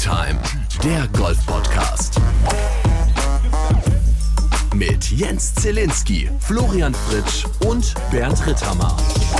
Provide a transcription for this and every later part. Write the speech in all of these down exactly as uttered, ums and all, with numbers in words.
Tea-Time, der Golf-Podcast. Mit Jens Zielinski, Florian Fritsch und Bernd Ritthammer.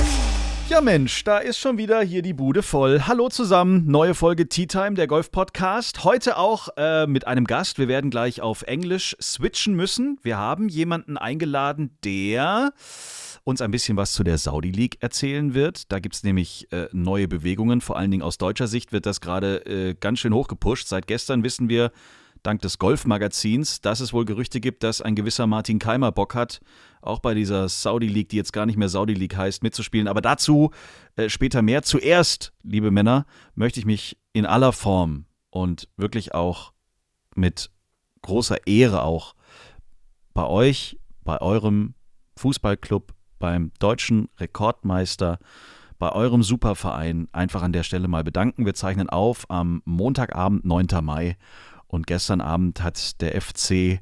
Ja Mensch, da ist schon wieder hier die Bude voll. Hallo zusammen, neue Folge Tea-Time, der Golf-Podcast. Heute auch äh, mit einem Gast. Wir werden gleich auf Englisch switchen müssen. Wir haben jemanden eingeladen, der uns ein bisschen was zu der Saudi League erzählen wird. Da gibt es nämlich äh, neue Bewegungen. Vor allen Dingen aus deutscher Sicht wird das gerade äh, ganz schön hochgepusht. Seit gestern wissen wir, dank des Golfmagazins, dass es wohl Gerüchte gibt, dass ein gewisser Martin Keimer Bock hat, auch bei dieser Saudi League, die jetzt gar nicht mehr Saudi League heißt, mitzuspielen. Aber dazu äh, später mehr. Zuerst, liebe Männer, möchte ich mich in aller Form und wirklich auch mit großer Ehre auch bei euch, bei eurem Fußballclub, beim deutschen Rekordmeister, bei eurem Superverein einfach an der Stelle mal bedanken. Wir zeichnen auf am Montagabend, neunten Mai. Und gestern Abend hat der F C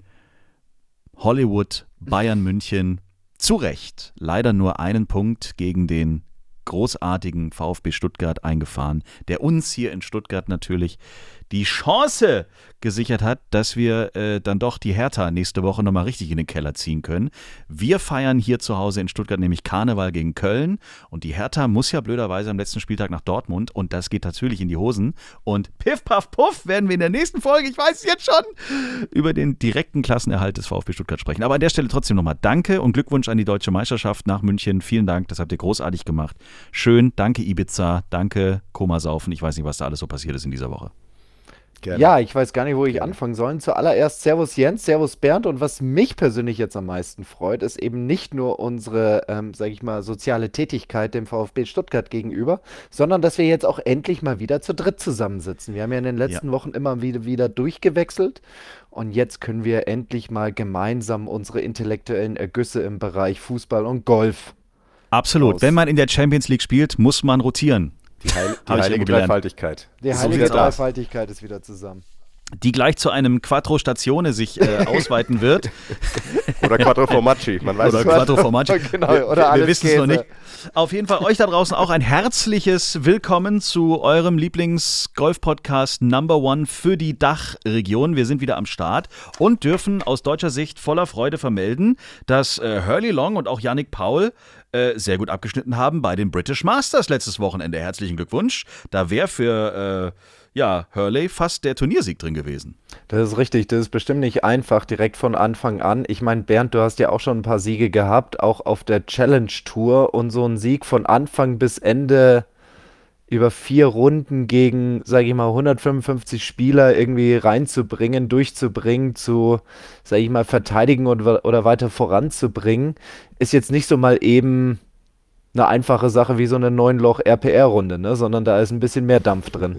Hollywood Bayern München zu Recht leider nur einen Punkt gegen den großartigen VfB Stuttgart eingefahren, der uns hier in Stuttgart natürlich die Chance gesichert hat, dass wir äh, dann doch die Hertha nächste Woche nochmal richtig in den Keller ziehen können. Wir feiern hier zu Hause in Stuttgart nämlich Karneval gegen Köln und die Hertha muss ja blöderweise am letzten Spieltag nach Dortmund und das geht natürlich in die Hosen und piff, paff, puff werden wir in der nächsten Folge, ich weiß es jetzt schon, über den direkten Klassenerhalt des VfB Stuttgart sprechen. Aber an der Stelle trotzdem nochmal Danke und Glückwunsch an die Deutsche Meisterschaft nach München. Vielen Dank, das habt ihr großartig gemacht. Schön, danke Ibiza, danke Komasaufen. Ich weiß nicht, was da alles so passiert ist in dieser Woche. Gerne. Ja, ich weiß gar nicht, wo ich anfangen soll. Zuallererst Servus Jens, Servus Bernd und was mich persönlich jetzt am meisten freut, ist eben nicht nur unsere, ähm, sag ich mal, soziale Tätigkeit dem VfB Stuttgart gegenüber, sondern dass wir jetzt auch endlich mal wieder zu dritt zusammensitzen. Wir haben ja in den letzten ja. Wochen immer wieder, wieder durchgewechselt und jetzt können wir endlich mal gemeinsam unsere intellektuellen Ergüsse im Bereich Fußball und Golf Absolut. Aus. Wenn man in der Champions League spielt, muss man rotieren. Die, Heil- die heilige Dreifaltigkeit. Die heilige so Dreifaltigkeit ist wieder zusammen. Die gleich zu einem Quattro Statione sich äh, ausweiten wird. Oder Quattro Formaggi, man weiß Oder es. Quattro Formaggi. Genau, wir oder wir wissen es noch nicht. Auf jeden Fall euch da draußen auch ein herzliches Willkommen zu eurem Lieblings-Golf-Podcast Number One für die Dachregion. Wir sind wieder am Start und dürfen aus deutscher Sicht voller Freude vermelden, dass äh, Hurley Long und auch Yannick Paul äh, sehr gut abgeschnitten haben bei den British Masters letztes Wochenende. Herzlichen Glückwunsch. Da wäre für... Äh, Ja, Hurley fast der Turniersieg drin gewesen. Das ist richtig, das ist bestimmt nicht einfach direkt von Anfang an. Ich meine, Bernd, du hast ja auch schon ein paar Siege gehabt, auch auf der Challenge Tour und so ein Sieg von Anfang bis Ende über vier Runden gegen, sage ich mal, hundertfünfundfünfzig Spieler irgendwie reinzubringen, durchzubringen, zu, sage ich mal, verteidigen oder, oder weiter voranzubringen, ist jetzt nicht so mal eben eine einfache Sache wie so eine neun-Loch-R P R-Runde, ne? Sondern da ist ein bisschen mehr Dampf drin.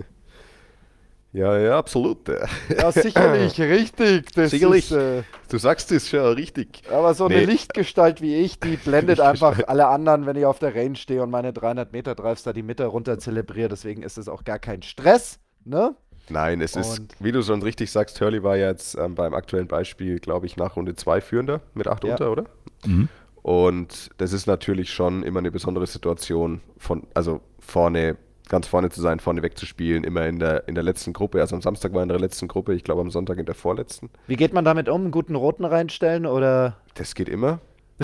Ja, ja, absolut. Ja, sicherlich, richtig. Das sicherlich, ist, äh, du sagst es schon richtig. Aber so eine nee. Lichtgestalt wie ich, die blendet einfach alle anderen, wenn ich auf der Range stehe und meine dreihundert Meter Drives da die Mitte runter zelebriere. Deswegen ist es auch gar kein Stress, ne? Nein, es und ist, wie du schon richtig sagst, Hurley war jetzt ähm, beim aktuellen Beispiel, glaube ich, nach Runde zwei führender mit acht ja. unter, oder? Mhm. Und das ist natürlich schon immer eine besondere Situation, von, also vorne ganz vorne zu sein, vorne wegzuspielen, immer in der, in der letzten Gruppe. Also am Samstag war in der letzten Gruppe, ich glaube am Sonntag in der vorletzten. Wie geht man damit um? Einen guten Roten reinstellen oder? Das geht immer.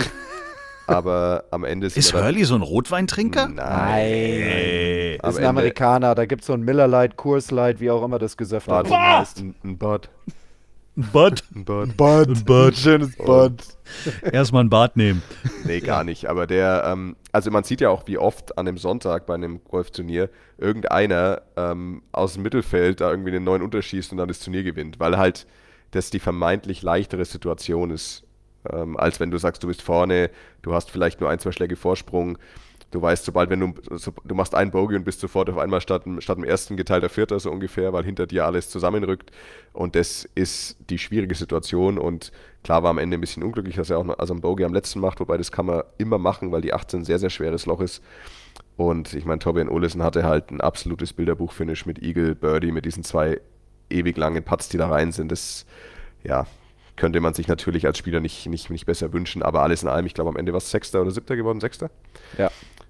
Aber am Ende ist Ist Hurley so ein Rotweintrinker? Nein. Hey. Ist ein Amerikaner, da gibt es so ein Miller Lite, Coors Light, wie auch immer das Gesöff heißt. Ein, ein Bud. Ein Bud? Ein Bud. Bud. Ein Bud. Schönes Bud. Erstmal ein Bad nehmen. Nee, gar nicht. Aber der, ähm, also man sieht ja auch, wie oft an einem Sonntag bei einem Golfturnier irgendeiner ähm, aus dem Mittelfeld da irgendwie einen neuen unterschießt und dann das Turnier gewinnt, weil halt das die vermeintlich leichtere Situation ist, ähm, als wenn du sagst, du bist vorne, du hast vielleicht nur ein, zwei Schläge Vorsprung. Du weißt, sobald, wenn du, so, du machst einen Bogey und bist sofort auf einmal statt, statt dem ersten geteilter Vierter so ungefähr, weil hinter dir alles zusammenrückt und das ist die schwierige Situation und klar war am Ende ein bisschen unglücklich, dass er auch noch, also einen Bogey am letzten macht, wobei das kann man immer machen, weil die achtzehn ein sehr, sehr schweres Loch ist und ich meine, Torbjörn Olesen hatte halt ein absolutes Bilderbuch-Finish mit Eagle, Birdie, mit diesen zwei ewig langen Putts, die da rein sind, das, ja, könnte man sich natürlich als Spieler nicht, nicht, nicht besser wünschen, aber alles in allem, ich glaube am Ende war es Sechster oder Siebter geworden, Sechster? Ja.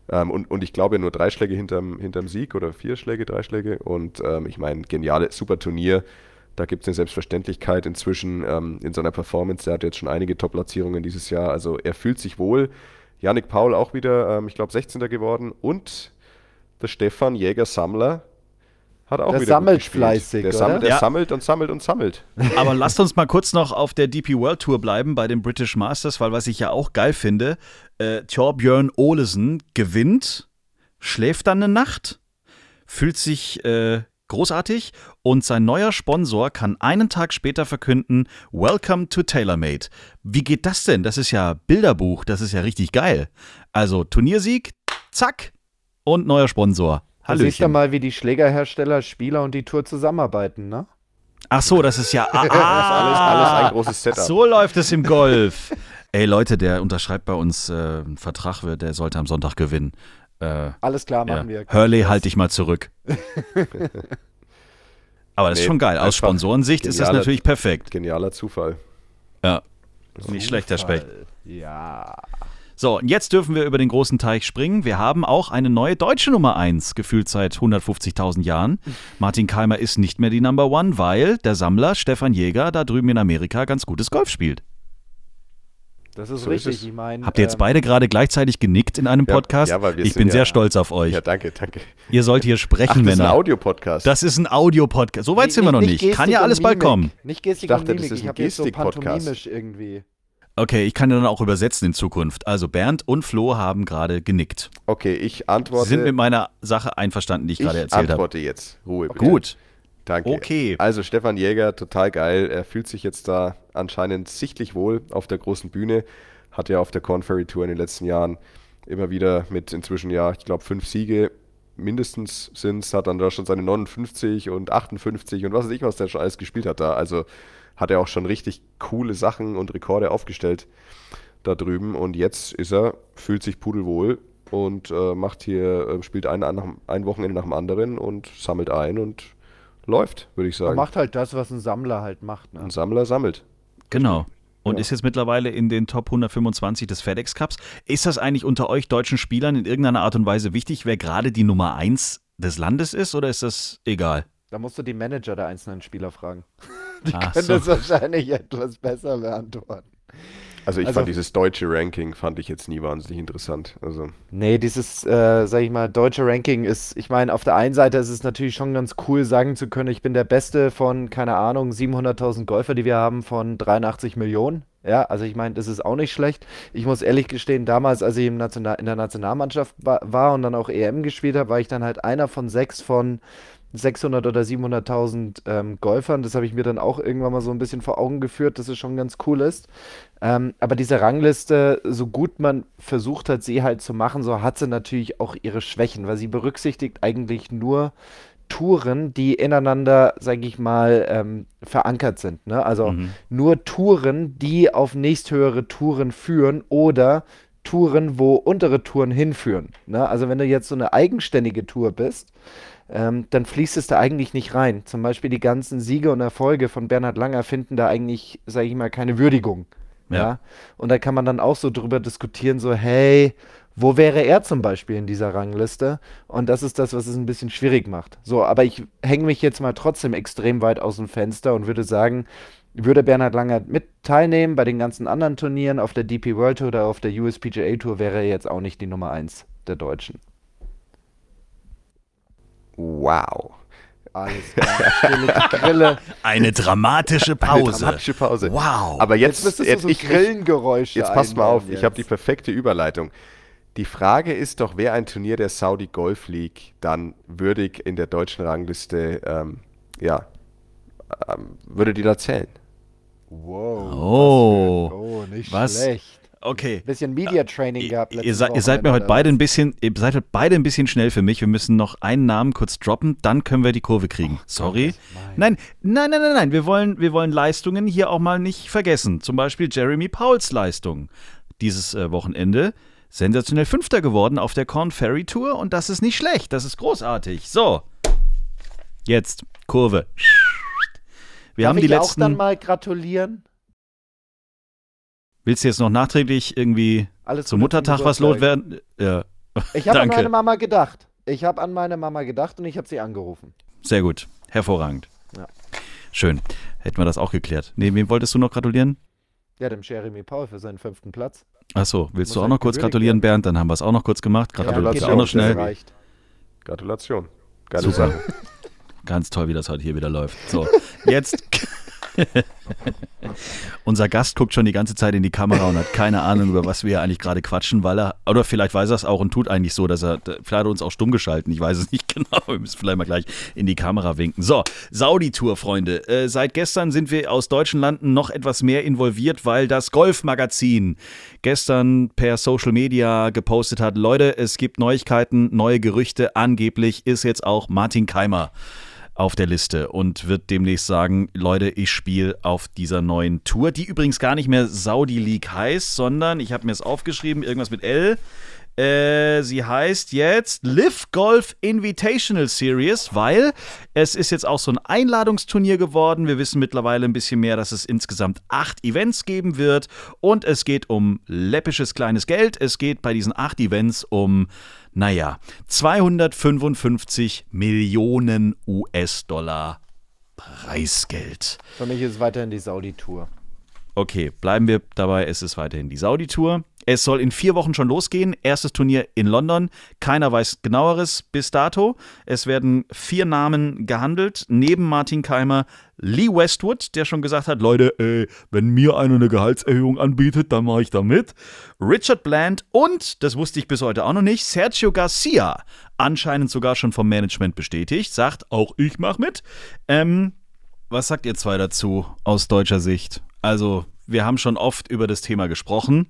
Ähm, und, und ich glaube nur drei Schläge hinterm, hinterm Sieg oder vier Schläge, drei Schläge. Und ähm, ich meine, geniale, super Turnier. Da gibt es eine Selbstverständlichkeit inzwischen ähm, in seiner Performance. Der hat jetzt schon einige Top-Platzierungen dieses Jahr. Also er fühlt sich wohl. Yannick Paul auch wieder, ähm, ich glaube, sechzehnter geworden. Und der Stefan Jäger-Sammler hat auch der wieder sammelt gut gespielt. fleißig, Der, sammelt, der Ja. sammelt und sammelt und sammelt. Aber lasst uns mal kurz noch auf der D P World Tour bleiben, bei den British Masters, weil was ich ja auch geil finde, äh, Thorbjörn Olesen gewinnt, schläft dann eine Nacht, fühlt sich äh, großartig und sein neuer Sponsor kann einen Tag später verkünden, Welcome to TaylorMade. Wie geht das denn? Das ist ja Bilderbuch, das ist ja richtig geil. Also Turniersieg, zack, und neuer Sponsor. Du siehst ja Hallöchen. mal, wie die Schlägerhersteller, Spieler und die Tour zusammenarbeiten, ne? Ach so, das ist ja ah, Das ist alles, alles ein großes Setup. so läuft es im Golf. Ey Leute, der unterschreibt bei uns äh, einen Vertrag, der sollte am Sonntag gewinnen. Äh, Alles klar, ja. machen wir. Hurley, halt dich mal zurück. Aber das ist Nee, schon geil. Aus einfach Sponsorensicht ist das genialer- natürlich perfekt. Genialer Zufall. Ja, nicht schlecht, Herr Specht. Ja. So, und jetzt dürfen wir über den großen Teich springen. Wir haben auch eine neue deutsche Nummer eins, gefühlt seit hundertfünfzigtausend Jahren. Martin Keimer ist nicht mehr die Number One, weil der Sammler Stefan Jäger da drüben in Amerika ganz gutes Golf spielt. Das ist So ist richtig. es. Ich meine, Habt ihr jetzt ähm, beide gerade gleichzeitig genickt in einem Ja, Podcast? ja, weil wir Ich sind bin ja- sehr stolz auf euch. Ja, danke, danke. Ihr sollt hier Ach, sprechen, das ist ein Männer. Audiopodcast. Das ist ein Audio-Podcast. So weit nicht- sind wir noch nicht. Gestik Kann ja und alles bald Mimik. kommen. Nicht Gestik Ich dachte, und das Mimik. ist Ich ein habe jetzt so Gestik-Podcast. pantomimisch irgendwie. Okay, ich kann dann auch übersetzen in Zukunft. Also Bernd und Flo haben gerade genickt. Okay, ich Sie antworte. sind mit meiner Sache einverstanden, die ich, ich gerade erzählt habe. antworte jetzt. Ruhe bitte. Gut. Danke. Okay. Also Stefan Jäger, total geil. Er fühlt sich jetzt da anscheinend sichtlich wohl auf der großen Bühne. Hat ja auf der Corn Ferry Tour in den letzten Jahren immer wieder mit inzwischen ja, ich glaube, fünf Siege mindestens sind es. Hat dann da schon seine neunundfünfzig und achtundfünfzig und was weiß ich, was der schon alles gespielt hat da. Also hat er auch schon richtig coole Sachen und Rekorde aufgestellt da drüben. Und jetzt ist er, fühlt sich pudelwohl und äh, macht hier, äh, spielt ein, ein Wochenende nach dem anderen und sammelt ein und läuft, würde ich Er sagen. macht halt das, was ein Sammler halt macht. Ne? Ein Sammler sammelt. Genau. Und Ja. ist jetzt mittlerweile in den Top hundertfünfundzwanzig des FedEx Cups. Ist das eigentlich unter euch deutschen Spielern in irgendeiner Art und Weise wichtig, wer gerade die Nummer eins des Landes ist, oder ist das egal? Da musst du die Manager der einzelnen Spieler fragen. Die Ach können so. das wahrscheinlich etwas besser beantworten. Also ich Also- fand dieses deutsche Ranking fand ich jetzt nie wahnsinnig interessant. Also Nee, dieses, äh, sag ich mal, deutsche Ranking ist, ich meine, auf der einen Seite ist es natürlich schon ganz cool, sagen zu können, ich bin der Beste von, keine Ahnung, siebenhunderttausend Golfer, die wir haben, von dreiundachtzig Millionen. Ja, also ich meine, das ist auch nicht schlecht. Ich muss ehrlich gestehen, damals, als ich im National in der Nationalmannschaft wa war und dann auch E M gespielt habe, war ich dann halt einer von sechs von sechshundert oder siebenhunderttausend ähm, Golfern. Das habe ich mir dann auch irgendwann mal so ein bisschen vor Augen geführt, dass es schon ganz cool ist. Ähm, aber diese Rangliste, so gut man versucht hat, sie halt zu machen, so hat sie natürlich auch ihre Schwächen, weil sie berücksichtigt eigentlich nur Touren, die ineinander, sage ich mal, ähm, verankert sind. Ne? Also Mhm. nur Touren, die auf nächsthöhere Touren führen oder Touren, wo untere Touren hinführen. Ne? Also wenn du jetzt so eine eigenständige Tour bist, ähm, dann fließt es da eigentlich nicht rein. Zum Beispiel die ganzen Siege und Erfolge von Bernhard Langer finden da eigentlich, sage ich mal, keine Würdigung. Ja. Ja. Und da kann man dann auch so drüber diskutieren, so, hey, wo wäre er zum Beispiel in dieser Rangliste? Und das ist das, was es ein bisschen schwierig macht. So, aber ich hänge mich jetzt mal trotzdem extrem weit aus dem Fenster und würde sagen, würde Bernhard Langer mit teilnehmen bei den ganzen anderen Turnieren auf der D P World Tour oder auf der U S P G A Tour, wäre er jetzt auch nicht die Nummer eins der Deutschen. wow. Alles klar, stille Grille. Eine dramatische Eine Pause. dramatische Pause. Wow. Aber Jetzt jetzt, müsstest jetzt, du so ich, ich, Grillengeräusche jetzt passt mal auf, einbauen ich habe die jetzt. perfekte Überleitung. Die Frage ist doch, wer ein Turnier der Saudi Golf League dann würdig in der deutschen Rangliste, ähm, ja, ähm, würde die da zählen? Wow. Oh. was für ein- oh, nicht Was? schlecht. Okay. Bisschen Media Training gehabt. Ihr, letztes seid, ihr seid mir Wochenende heute beide oder ein bisschen, ihr seid heute beide ein bisschen schnell für mich. Wir müssen noch einen Namen kurz droppen, dann können wir die Kurve kriegen. Sorry. Nein, nein, nein, nein, nein. Wir wollen, wir wollen Leistungen hier auch mal nicht vergessen. Zum Beispiel Jeremy Pauls Leistung dieses äh, Wochenende. Sensationell Fünfter geworden auf der Corn Ferry Tour und das ist nicht schlecht. Das ist großartig. So. Jetzt Kurve. Wir Darf haben ich die dir auch letzten. dann mal gratulieren? Willst du jetzt noch nachträglich irgendwie Alles zum Gute Muttertag was Geburtstag. loswerden? Ja. Ich habe an Danke. meine Mama gedacht. Ich habe an meine Mama gedacht und ich habe sie angerufen. Sehr gut. Hervorragend. Ja. Schön. Hätten wir das auch geklärt. Nee, wem wolltest du noch gratulieren? Ja, dem Jeremy Paul für seinen fünften Platz. Achso, willst Muss du auch halt noch kurz gewürdigt gratulieren, werden. Bernd? Dann haben wir es auch noch kurz gemacht. Gratulation geht auch noch auch, schnell. das reicht. Gratulation. Geile Super. Sache. Ganz toll, wie das heute hier wieder läuft. So, jetzt. Unser Gast guckt schon die ganze Zeit in die Kamera und hat keine Ahnung, über was wir eigentlich gerade quatschen, weil er, oder vielleicht weiß er es auch und tut eigentlich so, dass er, vielleicht hat er uns auch stumm geschalten, ich weiß es nicht genau, wir müssen vielleicht mal gleich in die Kamera winken. So, Saudi-Tour, Freunde. Äh, seit gestern sind wir aus deutschen Landen noch etwas mehr involviert, weil das Golf-Magazin gestern per Social Media gepostet hat, Leute, es gibt Neuigkeiten, neue Gerüchte, angeblich ist jetzt auch Martin Keimer auf der Liste und wird demnächst sagen, Leute, ich spiele auf dieser neuen Tour, die übrigens gar nicht mehr Saudi League heißt, sondern, ich habe mir es aufgeschrieben, irgendwas mit L, äh, sie heißt jetzt Live Golf Invitational Series, weil es ist jetzt auch so ein Einladungsturnier geworden. Wir wissen mittlerweile ein bisschen mehr, dass es insgesamt acht Events geben wird und es geht um läppisches kleines Geld. Es geht bei diesen acht Events um Naja, zweihundertfünfundfünfzig Millionen U S-Dollar Preisgeld. Für mich ist es weiterhin die Saudi-Tour. Okay, bleiben wir dabei, es ist weiterhin die Saudi-Tour. Es soll in vier Wochen schon losgehen. Erstes Turnier in London. Keiner weiß Genaueres bis dato. Es werden vier Namen gehandelt. Neben Martin Keimer Lee Westwood, der schon gesagt hat, Leute, ey, wenn mir einer eine Gehaltserhöhung anbietet, dann mache ich da mit. Richard Bland und, das wusste ich bis heute auch noch nicht, Sergio Garcia. Anscheinend sogar schon vom Management bestätigt. Sagt, auch ich mache mit. Ähm, was sagt ihr zwei dazu aus deutscher Sicht? Also, wir haben schon oft über das Thema gesprochen.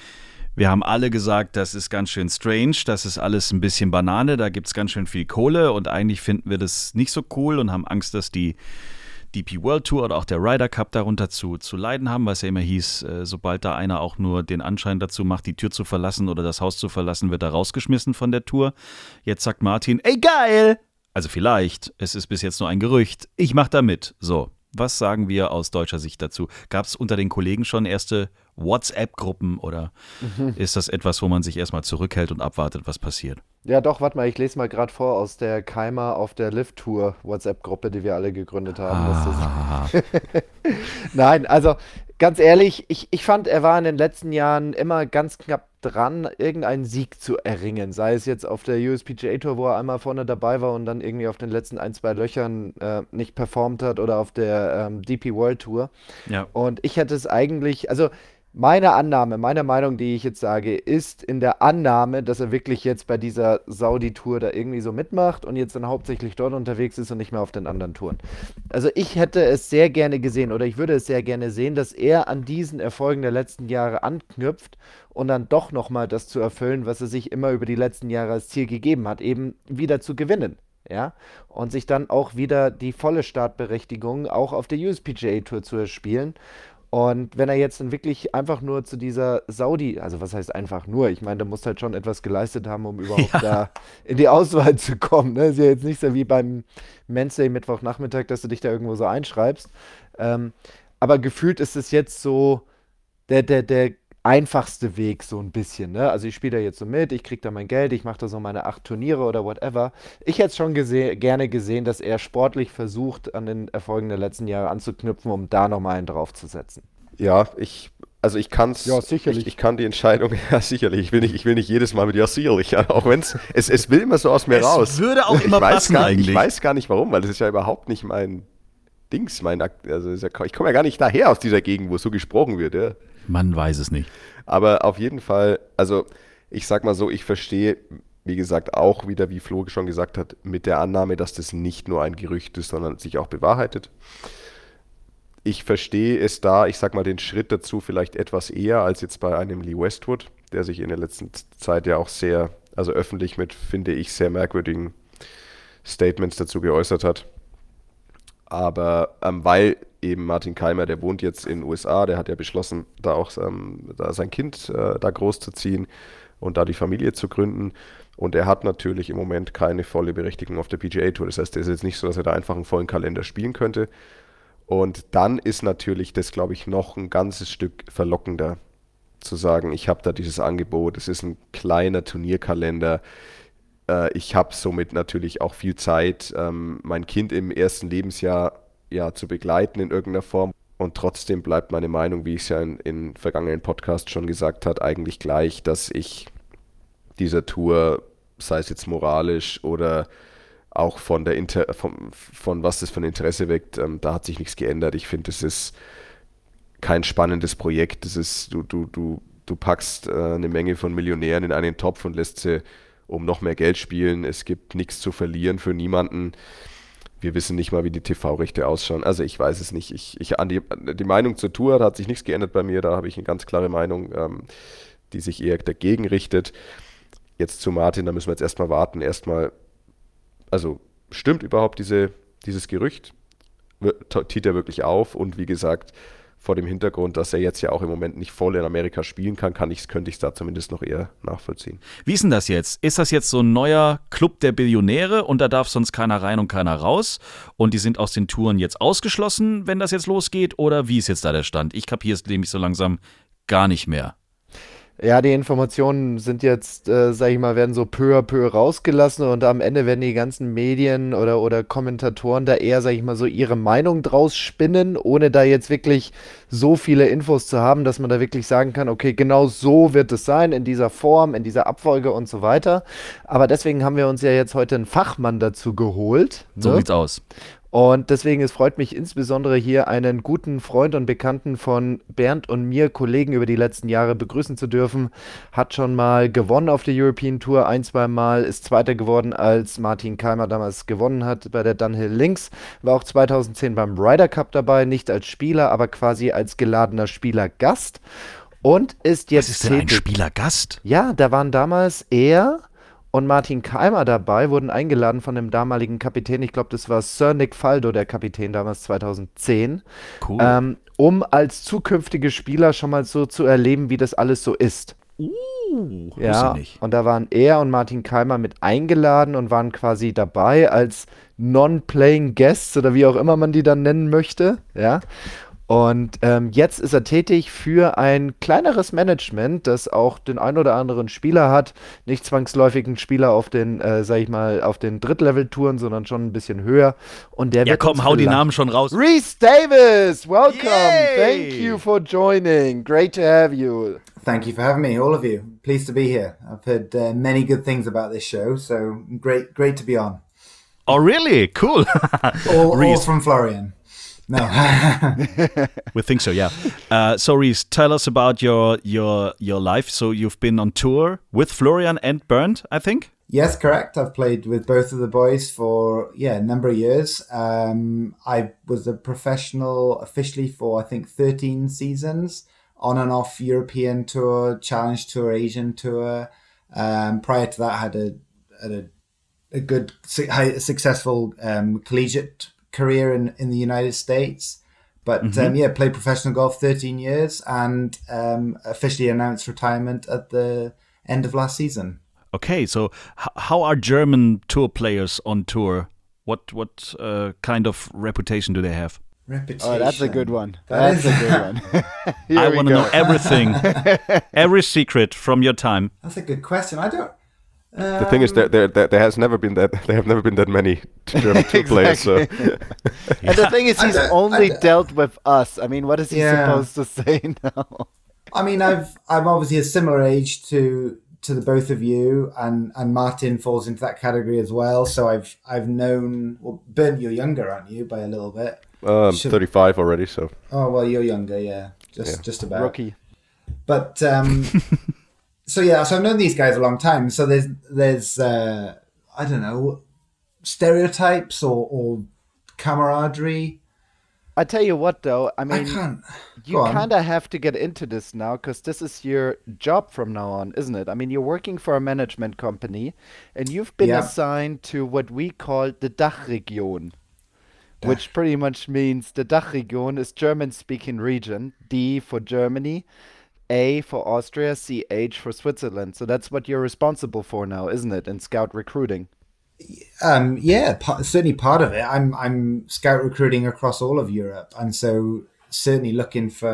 Wir haben alle gesagt, das ist ganz schön strange, das ist alles ein bisschen Banane, da gibt es ganz schön viel Kohle und eigentlich finden wir das nicht so cool und haben Angst, dass die D P World Tour oder auch der Ryder Cup darunter zu, zu leiden haben, weil es ja immer hieß, äh, sobald da einer auch nur den Anschein dazu macht, die Tür zu verlassen oder das Haus zu verlassen, wird er rausgeschmissen von der Tour. Jetzt sagt Martin, ey geil! Also vielleicht, es ist bis jetzt nur ein Gerücht, ich mach da mit. So, was sagen wir aus deutscher Sicht dazu? Gab es unter den Kollegen schon erste WhatsApp-Gruppen oder mhm. ist das etwas, wo man sich erstmal zurückhält und abwartet, was passiert? Ja doch, warte mal, ich lese mal gerade vor aus der Keimer auf der Live-Tour WhatsApp-Gruppe, die wir alle gegründet haben. Ah. Das ist Nein, also ganz ehrlich, ich, ich fand, er war in den letzten Jahren immer ganz knapp dran, irgendeinen Sieg zu erringen. Sei es jetzt auf der U S P G A Tour, wo er einmal vorne dabei war und dann irgendwie auf den letzten ein, zwei Löchern äh, nicht performt hat oder auf der ähm, D P World Tour. Ja. Und ich hätte es eigentlich, also meine Annahme, meine Meinung, die ich jetzt sage, ist in der Annahme, dass er wirklich jetzt bei dieser Saudi-Tour da irgendwie so mitmacht und jetzt dann hauptsächlich dort unterwegs ist und nicht mehr auf den anderen Touren. Also ich hätte es sehr gerne gesehen oder ich würde es sehr gerne sehen, dass er an diesen Erfolgen der letzten Jahre anknüpft und dann doch nochmal das zu erfüllen, was er sich immer über die letzten Jahre als Ziel gegeben hat, eben wieder zu gewinnen. Ja, und sich dann auch wieder die volle Startberechtigung auch auf der U S P G A Tour zu erspielen. Und wenn er jetzt dann wirklich einfach nur zu dieser Saudi, also was heißt einfach nur, ich meine, da muss halt schon etwas geleistet haben, um überhaupt ja. da in die Auswahl zu kommen. Ne? Ist ja jetzt nicht so wie beim Men's Day Mittwochnachmittag, dass du dich da irgendwo so einschreibst. Ähm, aber gefühlt ist es jetzt so der, der, der einfachste Weg so ein bisschen. Ne? Also ich spiele da jetzt so mit, ich kriege da mein Geld, ich mache da so meine acht Turniere oder whatever. Ich hätte schon gese- gerne gesehen, dass er sportlich versucht, an den Erfolgen der letzten Jahre anzuknüpfen, um da nochmal einen draufzusetzen. Ja, ich, also ich kann es, Ja, sicherlich. ich, ich kann die Entscheidung, ja sicherlich, ich will nicht, ich will nicht jedes Mal mit ja sicherlich, ja, auch wenn es, es will immer so aus mir Es raus. würde auch immer ich weiß passen gar, eigentlich. Ich weiß gar nicht warum, weil das ist ja überhaupt nicht mein Dings, mein, Akt- also ist ja, ich komme ja gar nicht daher aus dieser Gegend, wo so gesprochen wird, ja. Man weiß es nicht. Aber auf jeden Fall, also ich sag mal so, ich verstehe, wie gesagt, auch wieder, wie Flo schon gesagt hat, mit der Annahme, dass das nicht nur ein Gerücht ist, sondern sich auch bewahrheitet. Ich verstehe es da, ich sag mal, den Schritt dazu vielleicht etwas eher als jetzt bei einem Lee Westwood, der sich in der letzten Zeit ja auch sehr, also öffentlich mit, finde ich, sehr merkwürdigen Statements dazu geäußert hat. Aber ähm, weil eben Martin Keimer, der wohnt jetzt in den U S A, der hat ja beschlossen, da auch ähm, da sein Kind äh, da großzuziehen und da die Familie zu gründen. Und er hat natürlich im Moment keine volle Berechtigung auf der P G A Tour. Das heißt, es ist jetzt nicht so, dass er da einfach einen vollen Kalender spielen könnte. Und dann ist natürlich das, glaube ich, noch ein ganzes Stück verlockender zu sagen, ich habe da dieses Angebot, es ist ein kleiner Turnierkalender, äh, ich habe somit natürlich auch viel Zeit, ähm, mein Kind im ersten Lebensjahr ja, zu begleiten in irgendeiner Form. Und trotzdem bleibt meine Meinung, wie ich es ja in, in vergangenen Podcasts schon gesagt habe, eigentlich gleich, dass ich dieser Tour, sei es jetzt moralisch oder auch von der Inter von, von was das für ein Interesse weckt, ähm, da hat sich nichts geändert. Ich finde, es ist kein spannendes Projekt. Das ist, du, du, du, du packst äh, eine Menge von Millionären in einen Topf und lässt sie um noch mehr Geld spielen. Es gibt nichts zu verlieren für niemanden. Wir wissen nicht mal, wie die T V-Rechte ausschauen. Also ich weiß es nicht. Ich, ich, an die, die Meinung zur Tour, da hat sich nichts geändert bei mir. Da habe ich eine ganz klare Meinung, ähm, die sich eher dagegen richtet. Jetzt zu Martin, da müssen wir jetzt erstmal warten. Erstmal, also stimmt überhaupt diese, dieses Gerücht? Tiet er wirklich auf? Und wie gesagt, vor dem Hintergrund, dass er jetzt ja auch im Moment nicht voll in Amerika spielen kann, kann ich, könnte ich es da zumindest noch eher nachvollziehen. Wie ist denn das jetzt? Ist das jetzt so ein neuer Club der Billionäre und da darf sonst keiner rein und keiner raus und die sind aus den Touren jetzt ausgeschlossen, wenn das jetzt losgeht? Oder wie ist jetzt da der Stand? Ich kapiere es nämlich so langsam gar nicht mehr. Ja, die Informationen sind jetzt, äh, sag ich mal, werden so peu à peu rausgelassen und am Ende werden die ganzen Medien oder, oder Kommentatoren da eher, sag ich mal, so ihre Meinung draus spinnen, ohne da jetzt wirklich so viele Infos zu haben, dass man da wirklich sagen kann, okay, genau so wird es sein, in dieser Form, in dieser Abfolge und so weiter. Aber deswegen haben wir uns ja jetzt heute einen Fachmann dazu geholt. So ne? sieht's aus. Und deswegen, es freut mich insbesondere hier einen guten Freund und Bekannten von Bernd und mir, Kollegen über die letzten Jahre begrüßen zu dürfen. Hat schon mal gewonnen auf der European Tour, ein, zwei Mal, ist Zweiter geworden, als Martin Keimer damals gewonnen hat bei der Dunhill Links. War auch zweitausendzehn beim Ryder Cup dabei, nicht als Spieler, aber quasi als geladener Spielergast. Und ist jetzt Was ist denn ein tätig. Spielergast? Ja, da waren damals er und Martin Keimer dabei, wurden eingeladen von dem damaligen Kapitän, ich glaube, das war Sir Nick Faldo, der Kapitän damals zweitausendzehn, Cool. ähm, um als zukünftige Spieler schon mal so zu erleben, wie das alles so ist. Uh, Ja, wusste nicht. und da waren er und Martin Keimer mit eingeladen und waren quasi dabei als Non-Playing Guests oder wie auch immer man die dann nennen möchte, ja. Und ähm, jetzt ist er tätig für ein kleineres Management, das auch den ein oder anderen Spieler hat. Nicht zwangsläufig einen Spieler auf den, äh, sag ich mal, auf den Drittlevel-Touren, sondern schon ein bisschen höher. Und der Ja wird komm, uns hau die vielleicht- Namen schon raus. Reese Davis, welcome. Yay! Thank you for joining. Great to have you. Thank you for having me, all of you. Pleased to be here. I've heard uh, many good things about this show, so great, great to be on. Oh really? Cool. All, all Reese. from Florian. No. We think so, yeah. Uh, so Reese, tell us about your your your life. So you've been on tour with Florian and Bernd, I think? Yes, correct. I've played with both of the boys for, yeah, a number of years. Um, I was a professional officially for, I think, thirteen seasons, on and off European Tour, Challenge Tour, Asian Tour. Um, prior to that, I had a, had a, a good, su- high- successful um, collegiate career in, in the United States. But Mhm. um, yeah, played professional golf thirteen years and um, officially announced retirement at the end of last season. Okay, so h- how are German tour players on tour? What what uh, kind of reputation do they have? Reputation. Oh, that's a good one. That That's is- a good one. Here I we want to go. know everything, every secret from your time. That's a good question. I don't. Um, The thing is, there, there, there there has never been that there have never been that many German tour players. So And the thing is, I he's don't- only I don't- dealt with us. I mean, what is he Yeah. supposed to say now? I mean, I've I'm obviously a similar age to to the both of you, and and Martin falls into that category as well. So I've I've known. Well, Ben, you're younger, aren't you, by a little bit? um, Should- thirty-five already. So Oh well, you're younger, yeah, just Yeah. just about. Rookie. But um, so yeah, so I've known these guys a long time. So there's there's uh, I don't know, stereotypes or, or camaraderie. I tell you what, though, I I mean, can't. you Go on. kind of have to get into this now because this is your job from now on, isn't it? I mean, you're working for a management company and you've been Yeah. assigned to what we call the Dachregion, which pretty much means the Dachregion is German-speaking region, D for Germany, A for Austria, C H for Switzerland. So that's what you're responsible for now, isn't it, in scout recruiting? Um, yeah, pa- certainly part of it. I'm I'm scout recruiting across all of Europe, and so certainly looking for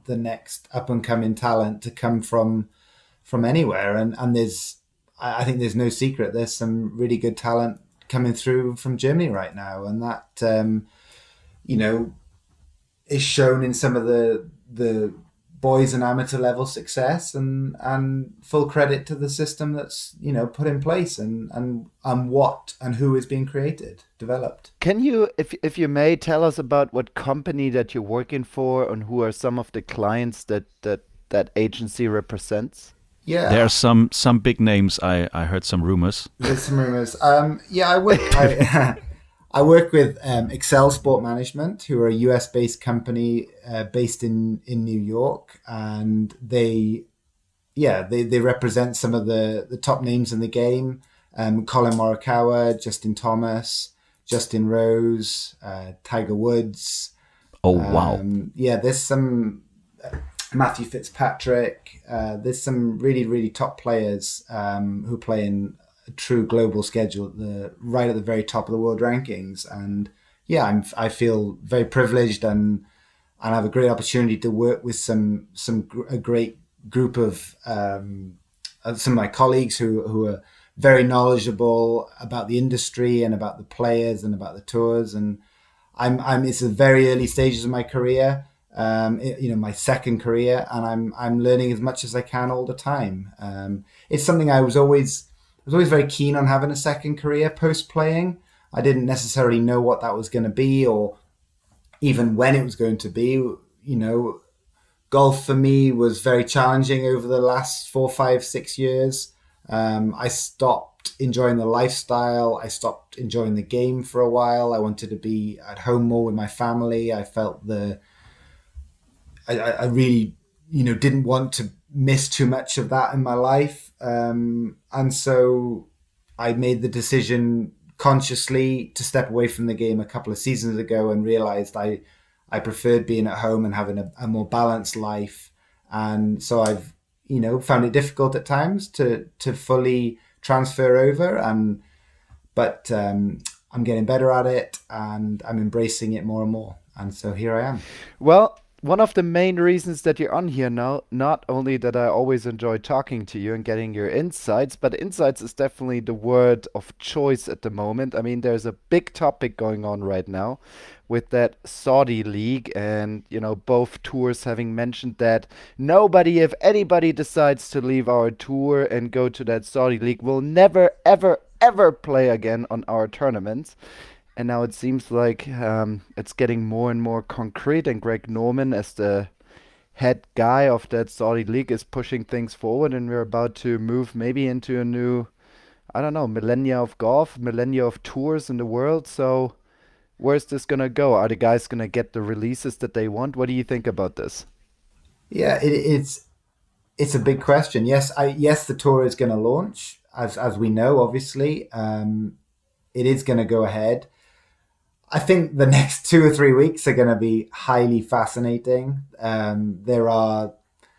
the next up and coming talent to come from from anywhere. And and there's I think there's no secret. There's some really good talent coming through from Germany right now, and that um, you know is shown in some of the the boys and amateur level success, and and full credit to the system that's you know put in place, and and and what and who is being created, developed. Can you, if if you may, tell us about what company that you're working for and who are some of the clients that that that agency represents? Yeah, There are some some big names. I, I heard some rumors. there's some rumors. Um, yeah, I work. I, I work with um, Excel Sport Management, who are a U S-based company uh, based in, in New York, and they, yeah, they, they represent some of the, the top names in the game: um, Colin Morikawa, Justin Thomas, Justin Rose, uh, Tiger Woods. Oh, wow. Um, yeah, there's some uh, Matthew Fitzpatrick. Uh, there's some really, really top players um, who play in a true global schedule, at the right at the very top of the world rankings. And yeah, I'm I feel very privileged and and have a great opportunity to work with some some gr- a great group of um, uh, some of my colleagues who who are very knowledgeable about the industry and about the players and about the tours. And I'm I'm it's the very early stages of my career. Um, it- you know, my second career, and I'm I'm learning as much as I can all the time. Um, it's something I was always I was always very keen on having a second career post playing. I didn't necessarily know what that was going to be, or even when it was going to be. You know, golf for me was very challenging over the last four, five, six years. Um, I stopped enjoying the lifestyle. I stopped enjoying the game for a while. I wanted to be at home more with my family. I felt the I, I really, you know, didn't want to miss too much of that in my life. Um, and so I made the decision consciously to step away from the game a couple of seasons ago, and realized I, I preferred being at home and having a, a more balanced life. And so I've, you know, found it difficult at times to, to fully transfer over. And, but um, I'm getting better at it, and I'm embracing it more and more. And so here I am. Well, one of the main reasons that you're on here now, not only that I always enjoy talking to you and getting your insights, but insights is definitely the word of choice at the moment. I mean, there's a big topic going on right now with that Saudi League, and, you know, both tours having mentioned that nobody, if anybody decides to leave our tour and go to that Saudi League, will never, ever, ever play again on our tournaments. And now it seems like um, it's getting more and more concrete, and Greg Norman, as the head guy of that Saudi League, is pushing things forward, and we're about to move maybe into a new, I don't know, millennia of golf, millennia of tours in the world. So where's this going to go? Are the guys going to get the releases that they want? What do you think about this? Yeah, it, it's it's a big question. Yes, I yes the tour is going to launch, as as we know. Obviously, um, it is going to go ahead. I think the next two or three weeks are going to be highly fascinating. Um, there are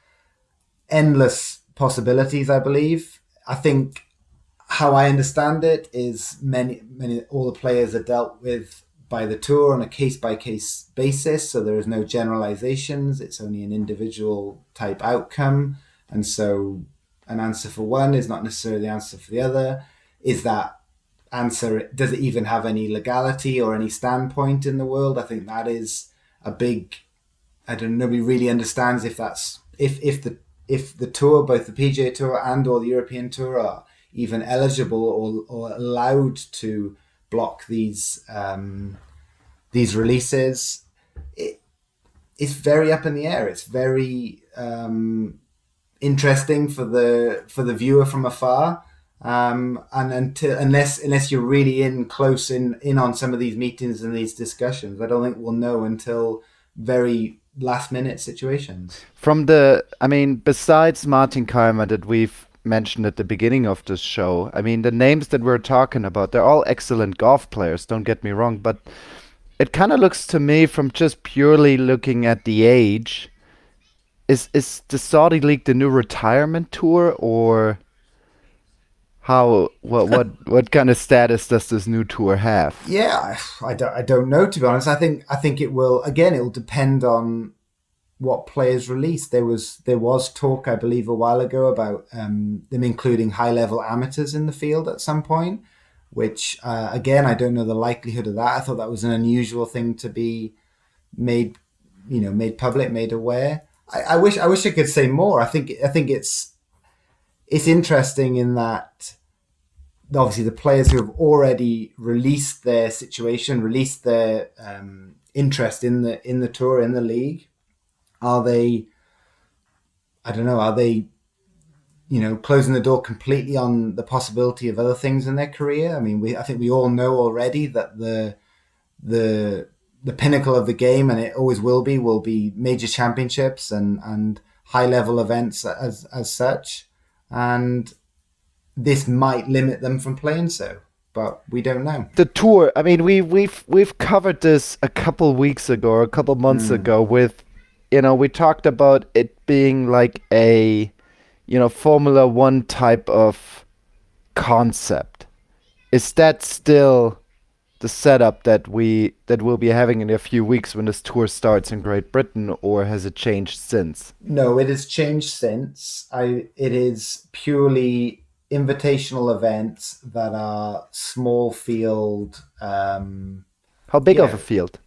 endless possibilities, I believe. I think how I understand it is many, many, all the players are dealt with by the tour on a case-by-case basis. So there is no generalizations. It's only an individual type outcome. And so an answer for one is not necessarily the answer for the other. Is that answer, does it even have any legality or any standpoint in the world? I think that is a big, I don't know, nobody really understands if that's, if if the if the tour, both the P G A Tour and or the European Tour, are even eligible or, or allowed to block these um, these releases. It, it's very up in the air. It's very um, interesting for the for the viewer from afar. Um, and until unless unless you're really in close in in on some of these meetings and these discussions, I don't think we'll know until very last minute situations. From the, I mean, besides Martin Kaymer that we've mentioned at the beginning of this show, I mean, the names that we're talking about, they're all excellent golf players, don't get me wrong, but it kind of looks to me, from just purely looking at the age, is is the Saudi League the new retirement tour, or how, what what what kind of status does this new tour have? Yeah, I don't, I don't know, to be honest. I think I think it will, again, it will depend on what players release. There was there was talk, I believe, a while ago about um, them including high-level amateurs in the field at some point, which, uh, again, I don't know the likelihood of that. I thought that was an unusual thing to be made, you know, made public, made aware. I, I wish I wish I could say more. I think I think it's it's interesting in that obviously the players who have already released their situation, released their um, interest in the in the tour, in the league, are they, I don't know, are they, you know, closing the door completely on the possibility of other things in their career? I mean, we I think we all know already that the the the pinnacle of the game, and it always will be, will be major championships and, and high level events as as such. And this might limit them from playing so, but we don't know. The tour, I mean, we, we've we've covered this a couple weeks ago or a couple months mm. ago with, you know, we talked about it being like a, you know, Formula One type of concept. Is that still the setup that we that we'll be having in a few weeks when this tour starts in Great Britain, or has it changed since? No, it has changed since. I it is purely invitational events that are small field. Um, How big yeah, of a field?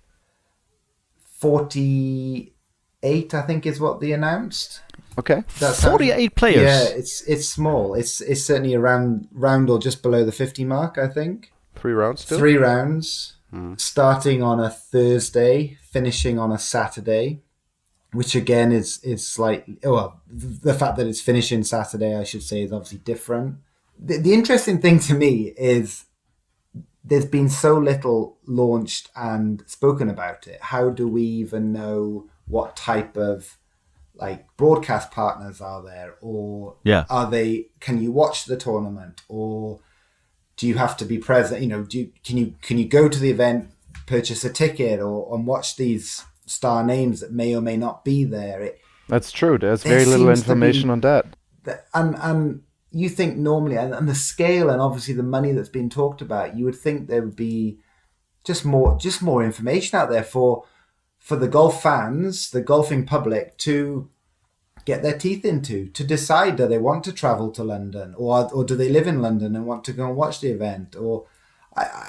forty-eight, I think, is what they announced. Okay, That's forty-eight how, players. Yeah, it's it's small. It's it's certainly around round or just below the fifty mark, I think. Three rounds still? Three rounds, hmm. starting on a Thursday, finishing on a Saturday, which again is is slightly, well, the fact that it's finishing Saturday, I should say, is obviously different. The, the interesting thing to me is there's been so little launched and spoken about it. How do we even know what type of like broadcast partners are there, or yeah. are they? Can you watch the tournament, or do you have to be present? You know, do you, can you can you go to the event, purchase a ticket, or and watch these star names that may or may not be there? It, That's true. There's very little information be, on that. that. And and you think normally, and, and the scale, and obviously the money that's been talked about, you would think there would be just more just more information out there for for the golf fans, the golfing public to get their teeth into, to decide, do they want to travel to London, or or do they live in London and want to go and watch the event? Or I, I,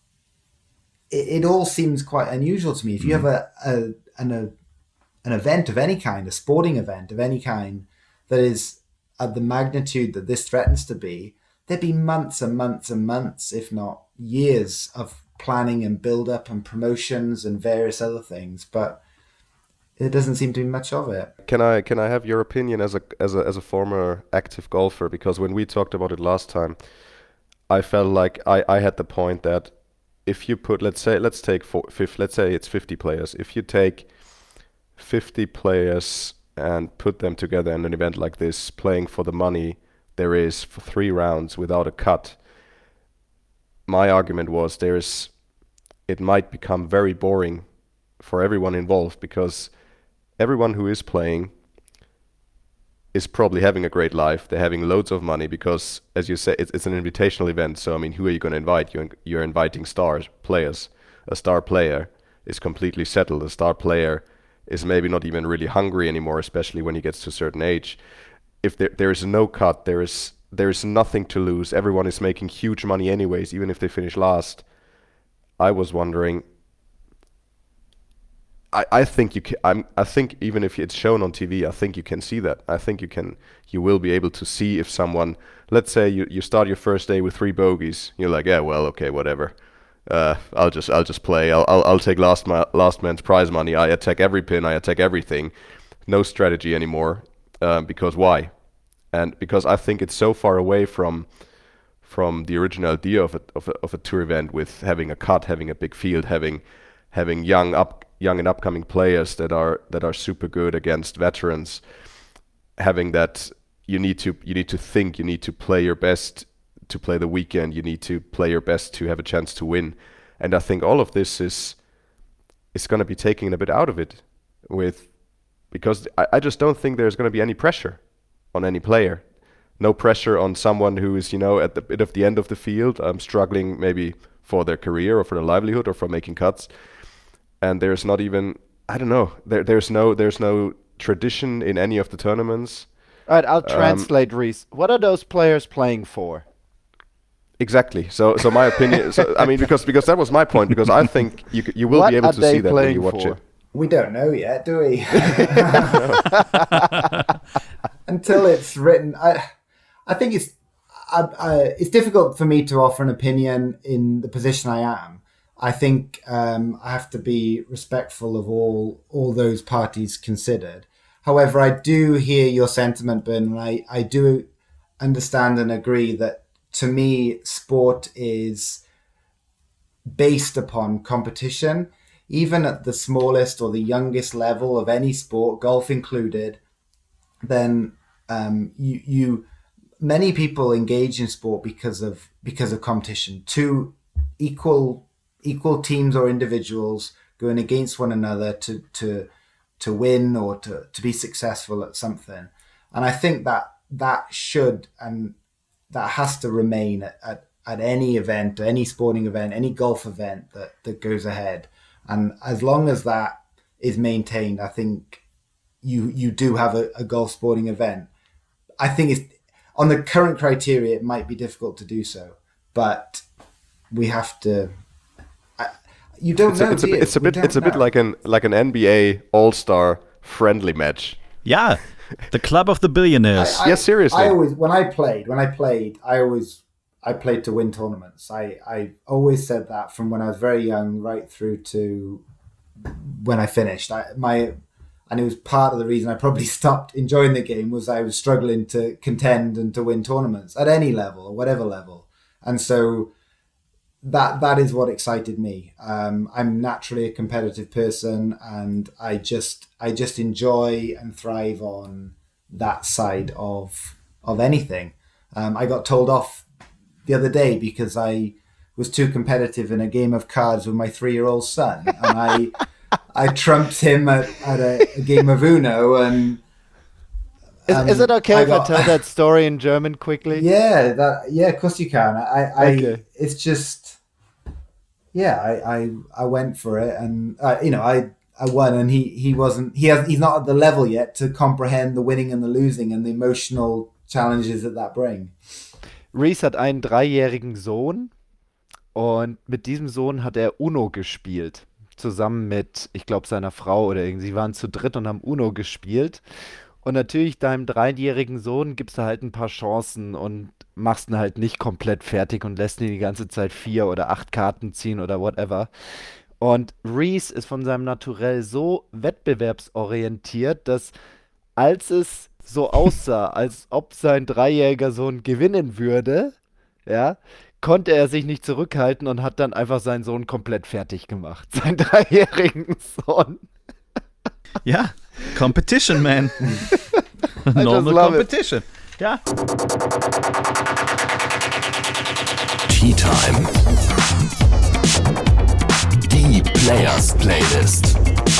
it, it all seems quite unusual to me. If you have a, a an a, an event of any kind, a sporting event of any kind, that is at the magnitude that this threatens to be, there'd be months and months and months, if not years, of planning and build-up and promotions and various other things. But it doesn't seem to be much of it. Can I can I have your opinion as a as a as a former active golfer? Because when we talked about it last time, I felt like I, I had the point that if you put let's say let's take four, fifth, let's say it's fifty players. If you take fifty players and put them together in an event like this, playing for the money there is for three rounds without a cut, my argument was there is it might become very boring for everyone involved, because everyone who is playing is probably having a great life. They're having loads of money because, as you say, it's, it's an invitational event. So, I mean, who are you going to invite? You're, you're inviting stars, players. A star player is completely settled. A star player is maybe not even really hungry anymore, especially when he gets to a certain age. If there, there is no cut, there is there is nothing to lose. Everyone is making huge money anyways, even if they finish last. I was wondering... I, I think you can. I'm, I think even if it's shown on T V, I think you can see that. I think you can. You will be able to see if someone. Let's say you, you start your first day with three bogeys. You're like, yeah, well, okay, whatever. Uh, I'll just I'll just play. I'll I'll, I'll take last ma- last man's prize money. I attack every pin. I attack everything. No strategy anymore. Um, because why? And because I think it's so far away from from the original idea of a of a, of a tour event, with having a cut, having a big field, having having young up. young and upcoming players that are that are super good against veterans, having that you need to you need to think, you need to play your best to play the weekend, you need to play your best to have a chance to win. And I think all of this is is going to be taking a bit out of it, with because I, I just don't think there's going to be any pressure on any player. No pressure on someone who is, you know, at the bit of the end of the field, um, struggling maybe for their career or for their livelihood or for making cuts. And there's not even I don't know. There, there's no, there's no tradition in any of the tournaments. All right, I'll translate, um, Reese. What are those players playing for? Exactly. So, so my opinion. So, I mean, because because that was my point. Because I think you you will what be able to see that when you watch for? it. We don't know yet, do we? Until it's written, I I think it's I, I, it's difficult for me to offer an opinion in the position I am. I think um, I have to be respectful of all all those parties considered. However, I do hear your sentiment, Ben, and I, I do understand and agree that, to me, sport is based upon competition. Even at the smallest or the youngest level of any sport, golf included, then um, you, you many people engage in sport because of because of competition. Two equal equal teams or individuals going against one another to to to win or to, to be successful at something. And I think that that should and that has to remain at, at, at any event, any sporting event, any golf event that, that goes ahead. And as long as that is maintained, I think you you do have a, a golf sporting event. I think it's on the current criteria, it might be difficult to do so, but we have to. I, you don't it's know. A, it's, do a, you? it's a We bit. It's a don't bit know. like an like an N B A All-Star friendly match. Yeah, the club of the billionaires. I, I, Yeah, seriously. I always when I played when I played I always I played to win tournaments. I I always said that from when I was very young right through to when I finished. I my and it was part of the reason I probably stopped enjoying the game was I was struggling to contend and to win tournaments at any level or whatever level. And so that that is what excited me. Um, I'm naturally a competitive person, and I just I just enjoy and thrive on that side of of anything. Um, I got told off the other day because I was too competitive in a game of cards with my three-year-old son, and I I trumped him at, at a, a game of Uno. And Is, um, is it okay I if got- I tell that story in German quickly? Yeah, that yeah, of course you can. I, I Okay. it's just yeah, I, I I went for it, and uh, you know, I I won, and he he wasn't he has he's not at the level yet to comprehend the winning and the losing and the emotional challenges that that bring. Reese hat einen dreijährigen Sohn und mit diesem Sohn hat er Uno gespielt. Zusammen mit, ich glaube, seiner Frau oder irgendwie. Sie waren zu dritt und haben Uno gespielt. Und natürlich deinem dreijährigen Sohn gibst du halt ein paar Chancen und machst ihn halt nicht komplett fertig und lässt ihn die ganze Zeit vier oder acht Karten ziehen oder whatever. Und Reese ist von seinem Naturell so wettbewerbsorientiert, dass als es so aussah, als ob sein dreijähriger Sohn gewinnen würde, ja, konnte er sich nicht zurückhalten und hat dann einfach seinen Sohn komplett fertig gemacht. Seinen dreijährigen Sohn. Ja, Competition, man. just Normal love it. Competition. Ja. Tea Time. Die Players Playlist.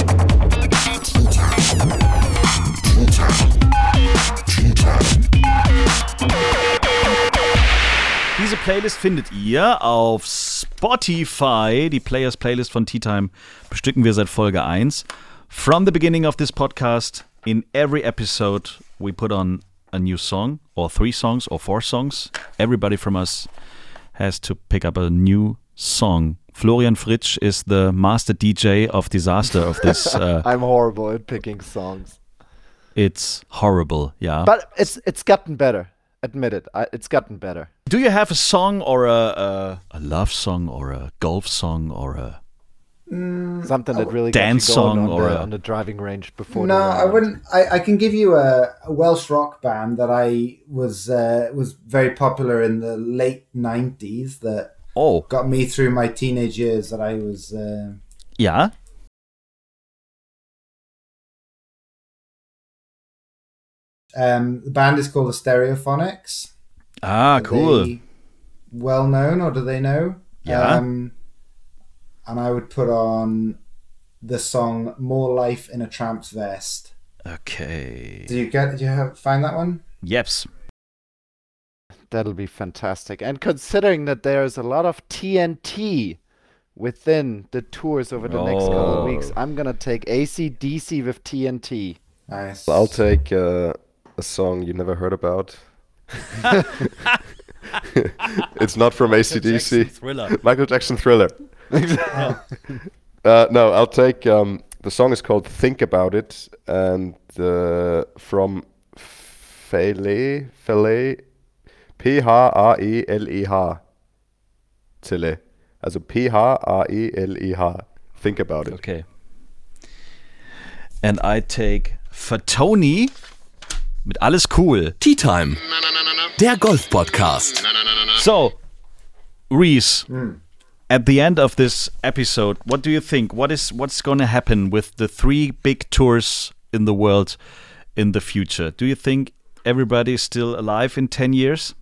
Diese Playlist findet ihr auf Spotify. Die Players Playlist von Tea Time bestücken wir seit Folge eins. From the beginning of this podcast, in every episode, we put on a new song, or three songs, or four songs. Everybody from us has to pick up a new song. Florian Fritsch is the master D J of disaster of this. Uh, I'm horrible at picking songs. it's horrible, yeah. But it's it's gotten better. Admit it. I, it's gotten better. Do you have a song or a, a a love song or a golf song or a Something that really Dance gets you going song on, or the, a- on the driving range before No, the I round. wouldn't. I, I can give you a, a Welsh rock band that I was uh, was very popular in the late nineties that oh got me through my teenage years. That I was. Uh, ja? um, the band is called the Stereophonics. Ah, Are cool. they well known, or do they know? Yeah. Um, and I would put on the song "More Life in a Tramp's Vest." Okay. Did you get? Did you have, find that one? Yeps. That'll be fantastic. And considering that there's a lot of T N T within the tours over the next couple Oh. of weeks, I'm gonna take A C D C with T N T. Nice. I'll take uh, a song you never heard about. It's not from A C D C. Thriller. Michael Jackson Thriller. uh, no, I'll take. Um, the song is called "Think About It" and uh, from Fele, Fele, P H A E L E H. Tele. Also P H A E L E H. Think About It. Okay. And I take Fatoni mit Alles Cool. Tea Time, der Golf-Podcast. So, Reese, at the end of this episode, what do you think? What is what's going to happen with the three big tours in the world in the future? Do you think everybody is still alive in ten years?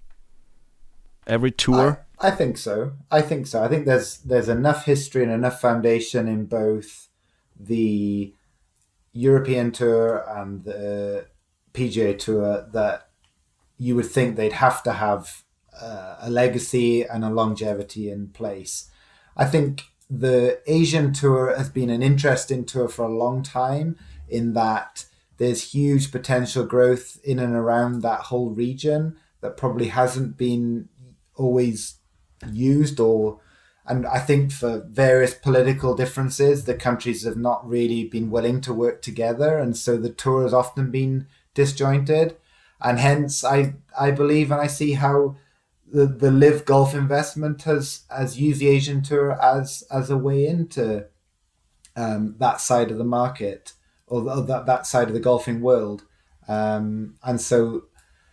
Every tour? I, I think so. I think so. I think there's there's enough history and enough foundation in both the European Tour and the P G A Tour that you would think they'd have to have uh, a legacy and a longevity in place. I think the Asian Tour has been an interesting tour for a long time in that there's huge potential growth in and around that whole region that probably hasn't been always used, or and I think for various political differences the countries have not really been willing to work together, and so the tour has often been disjointed, and hence I I believe and I see how the the Live Golf investment has has used the Asian Tour as as a way into um, that side of the market, or, or that that side of the golfing world, um, and so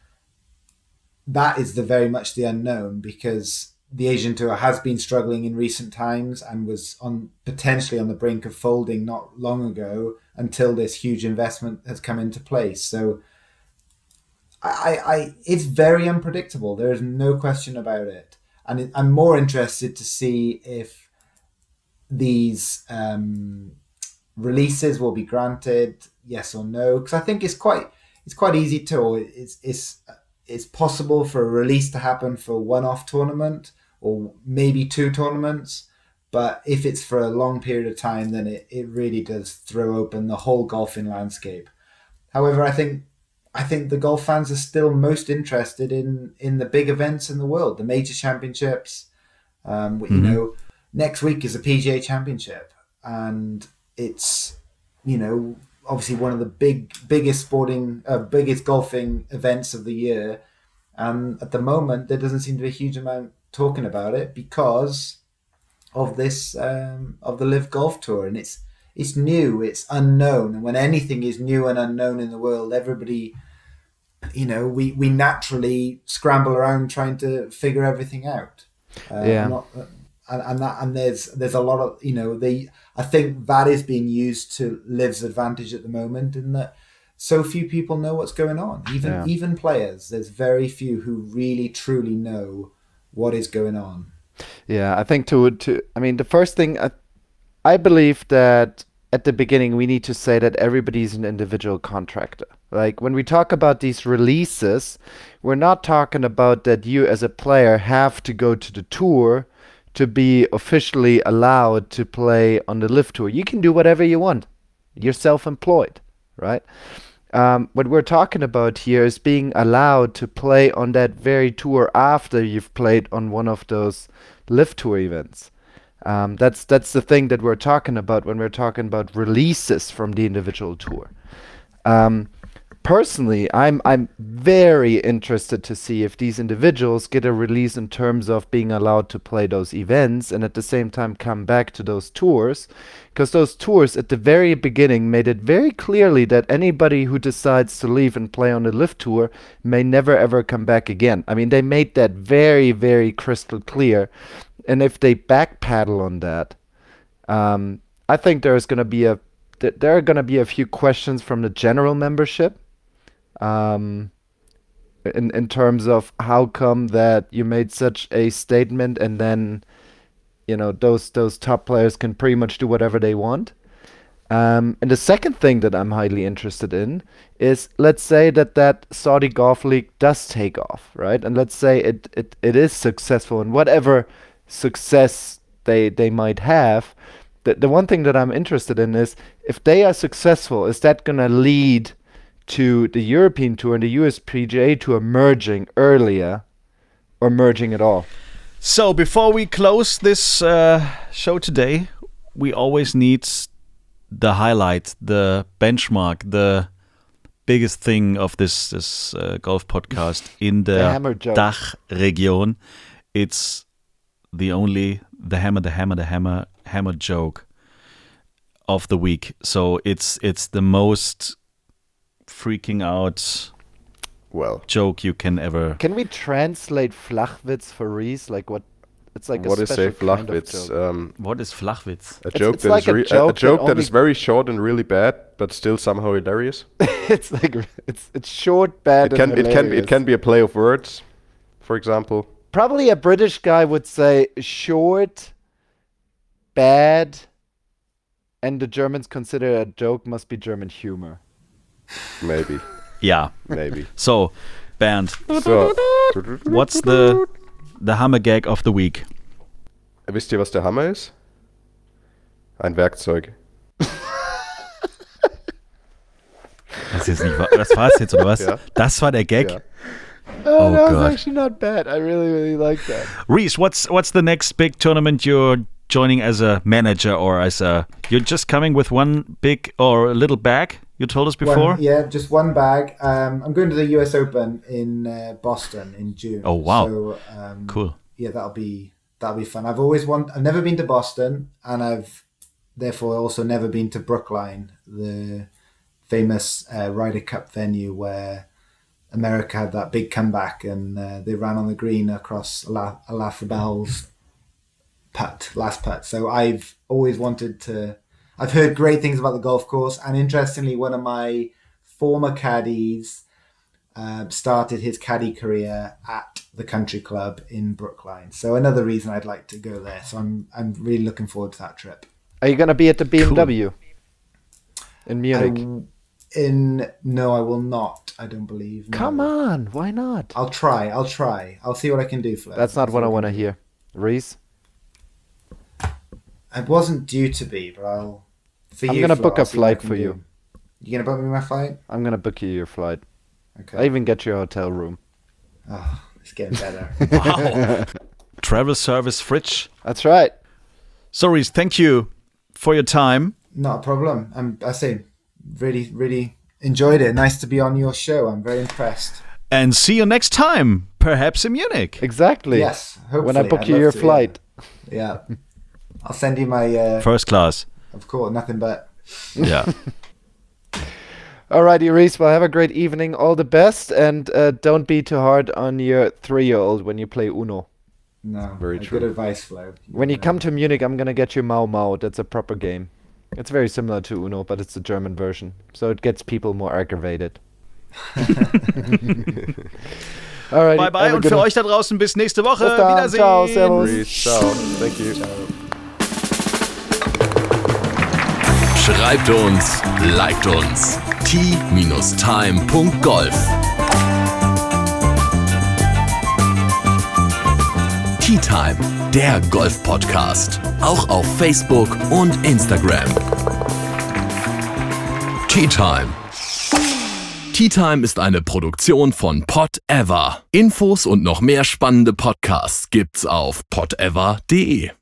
that is the very much the unknown, because the Asian Tour has been struggling in recent times and was on potentially on the brink of folding not long ago until this huge investment has come into place. So I, I it's very unpredictable. There is no question about it. And it, I'm more interested to see if these um, releases will be granted, yes or no, because I think it's quite it's quite easy to, or it's it's it's possible for a release to happen for a one-off tournament or maybe two tournaments. But if it's for a long period of time, then it, it really does throw open the whole golfing landscape. However, I think I think the golf fans are still most interested in, in the big events in the world, the major championships. Um, mm-hmm. You know, next week is a P G A Championship, and it's, you know, obviously one of the big, biggest sporting, uh, biggest golfing events of the year. And at the moment, there doesn't seem to be a huge amount talking about it because of this, um, of the Live Golf Tour. And it's, it's new, it's unknown. And when anything is new and unknown in the world, everybody, you know, we, we naturally scramble around trying to figure everything out. Uh, yeah. Not, and, and that, and there's, there's a lot of, you know, they, I think that is being used to Liv's advantage at the moment, in that so few people know what's going on. Even Yeah. even players, there's very few who really truly know what is going on. Yeah, I think to to I mean the first thing I, I believe that at the beginning we need to say that everybody's an individual contractor. Like when we talk about these releases, we're not talking about that you as a player have to go to the tour to be officially allowed to play on the Live Tour. You can do whatever you want. You're self-employed, right? Um, what we're talking about here is being allowed to play on that very tour after you've played on one of those Live Tour events. Um, that's that's the thing that we're talking about when we're talking about releases from the individual tour. Um, Personally, I'm I'm very interested to see if these individuals get a release in terms of being allowed to play those events and at the same time come back to those tours, because those tours at the very beginning made it very clearly that anybody who decides to leave and play on the Live Tour may never ever come back again. I mean, they made that very, very crystal clear, and if they backpedal on that, um, I think there's going to be a th- there are going to be a few questions from the general membership. Um, in in terms of how come that you made such a statement and then, you know, those those top players can pretty much do whatever they want. Um, and the second thing that I'm highly interested in is, let's say that that Saudi Golf League does take off, right? And let's say it it, it is successful, and whatever success they, they might have, the, the one thing that I'm interested in is, if they are successful, is that going to lead to the European Tour and the U S P G A Tour merging earlier or merging at all? So before we close this uh, show today, we always need the highlight, the benchmark, the biggest thing of this this uh, golf podcast in The the, hammer joke. Dachregion. It's the only the hammer, the hammer, the hammer, hammer joke of the week. So it's it's the most freaking out Well, joke you can ever. Can we translate Flachwitz for Reese? Like what? It's like what a is special a kind of Flachwitz? joke. Um, What is Flachwitz? a It's- joke it's that like is a re- a, joke a that joke that only- is very short and really bad, but still somehow hilarious. It's like it's it's short, bad, It can and it can be, hilarious. it can be a play of words, for example. Probably a British guy would say short, bad, and the Germans consider a joke must be German humor. Maybe, Yeah. maybe. So, Bernd, So, what's the the hammer gag of the week? wisst ihr, was der Hammer ist? Ein Werkzeug. Das ist nicht wahr. Das war es jetzt, oder was? Ja. Das war der Gag? Ja. Oh, that was God. actually not bad. I really, really like that. Reese, what's what's the next big tournament you're joining as a manager or as a... You're just coming with one big or a little bag, you told us before? One, yeah, just one bag. Um, I'm going to the U S Open in uh, Boston in June. Oh, wow. So, um, Cool. Yeah, that'll be that'll be fun. I've always want. I've never been to Boston, and I've therefore also never been to Brookline, the famous uh, Ryder Cup venue where America had that big comeback, and uh, they ran on the green across Ala- Alafabel's putt, last putt. So I've always wanted to. I've heard great things about the golf course, and interestingly, one of my former caddies uh, started his caddy career at the Country Club in Brookline. So another reason I'd like to go there. So I'm I'm really looking forward to that trip. Are you gonna be at the B M W in Munich? I- in no, I will not. I don't believe. No. Come on, why not? I'll try. I'll try. I'll see what I can do for that. That's not what I want to hear. Reese, I wasn't due to be, but I'll. For I'm you, gonna Flo, book I'll a see what I flight can for do. you. You gonna book me my flight? I'm gonna book you your flight. Okay. I even get your hotel room. Oh, it's getting better. Wow. Travel service Fritsch. That's right. So, Reese, thank you for your time. Not a problem. I'm. I say, really, really enjoyed it. Nice to be on your show. I'm very impressed. And see you next time, perhaps in Munich. Exactly. Yes. Hopefully. When I book I'd you love your to, flight. Yeah. yeah. I'll send you my. Uh, First class. of course, nothing but. Yeah. Alrighty, Reese. Well, have a great evening. All the best, and uh, don't be too hard on your three-year-old when you play Uno. No. Very uh, true. Good advice, Flo. When you Yeah. come to Munich, I'm gonna get you Mau Mau. That's a proper game. It's very similar to Uno, but it's the German version, so it gets people more aggravated. Alrighty, Bye bye have a und good für one. euch da draußen bis nächste Woche. Bis dann. Wiedersehen. Ciao, servus. Reese, ciao. Thank you. Schreibt uns, liked uns. t-time punkt golf Tea Time, der Golf-Podcast. Auch auf Facebook und Instagram. Tea Time. Tea Time ist eine Produktion von Pod Ever. Infos und noch mehr spannende Podcasts gibt's auf pod ever punkt de.